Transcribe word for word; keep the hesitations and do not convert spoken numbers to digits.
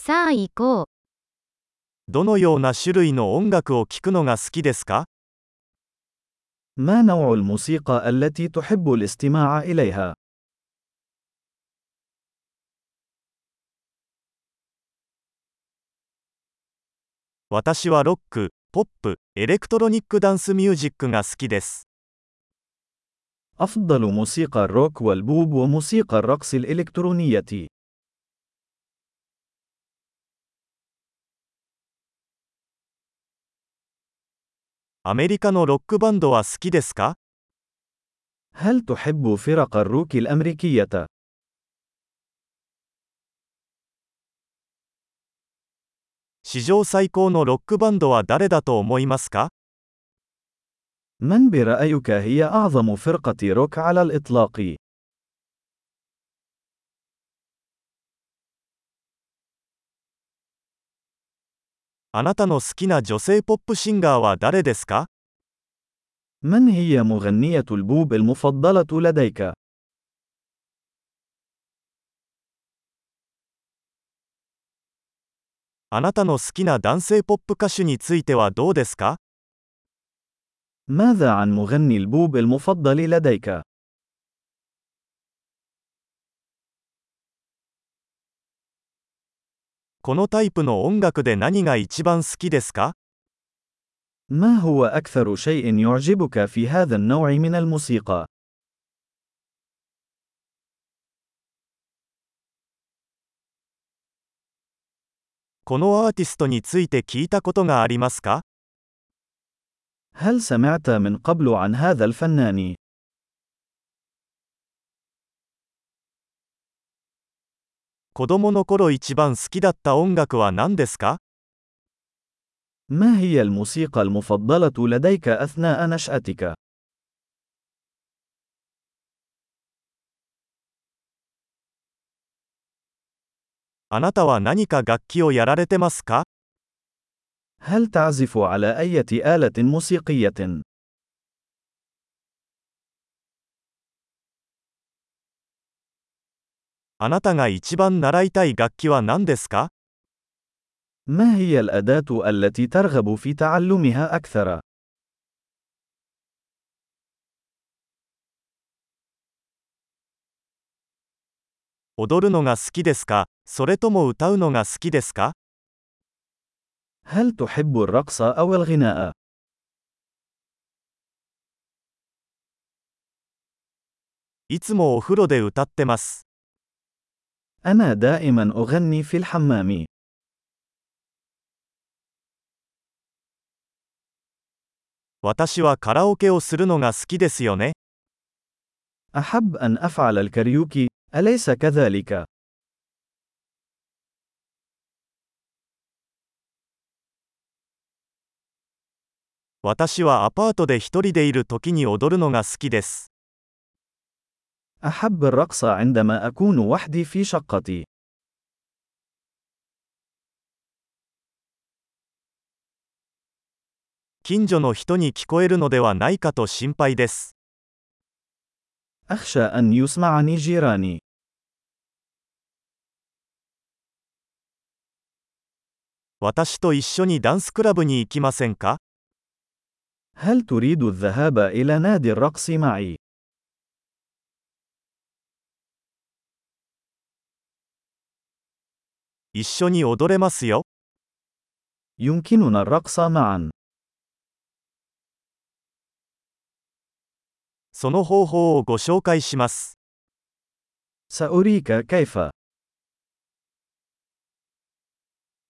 さあ行こう。 どのような種類の音楽を聴くのが好きですか？ ما نوع الموسيقى التي تحب الاستماع إليها؟ 私はロック、ポップ、エレクトロニックダンスミュージックが好きです。 أفضل موسيقى الروك والبوب وموسيقى الرقص الإلكترونية. アメリカのロックバンドは好きですか？ هل تحب فرق الروك الأمريكية؟ 史上最高のロックバンドは誰だと思いますか？ من برأيك هي أعظم فرقة روك على الإطلاق؟ あなたの好きな女性ポップシンガーは誰ですか？ من هي مغنية البوب المفضلة لديك؟ あなたの好きな男性ポップ歌手についてはどうですか？ ماذا عن مغني البوب المفضل لديك؟ このタイプの音楽で何が一番好きですか？ ما هو أكثر شيء يعجبك في هذا النوع من الموسيقى؟ このアーティストについて聞いたことがありますか？ هل سمعت من قبل عن هذا الفنان؟ 子供の頃一番好きだった音楽は何ですか？ ما هي الموسيقى المفضلة لديك أثناء نشأتك؟ あなたは何か楽器をやられてますか？ هل تعزف على أي آلة موسيقية؟ あなたが一番習いたい楽器は何ですか？ ما هي الأداة التي ترغب في تعلمها أكثر؟ 踊るのが好きですか？それとも歌うのが好きですか？ هل تحب الرقص أو الغناء؟ いつもお風呂で歌ってます。 أنا دائما أغني في الحمام. 私はカラオケをするのが好きですよね。 أحب أن أفعل الكاريوكي، أليس كذلك؟ 私はアパートで一人でいる時に踊るのが好きです。 أحب الرقص عندما أكون وحدي في شقتي. 近所の人に聞こえるのではないかと心配です。 أخشى أن يسمعني جيراني. 私と一緒にダンスクラブに行きませんか？ هل تريد الذهاب إلى نادي الرقص معي؟ 一緒に踊れますよ。 يمكننا الرقص معا. その方法をご紹介します。 سأريك كيف.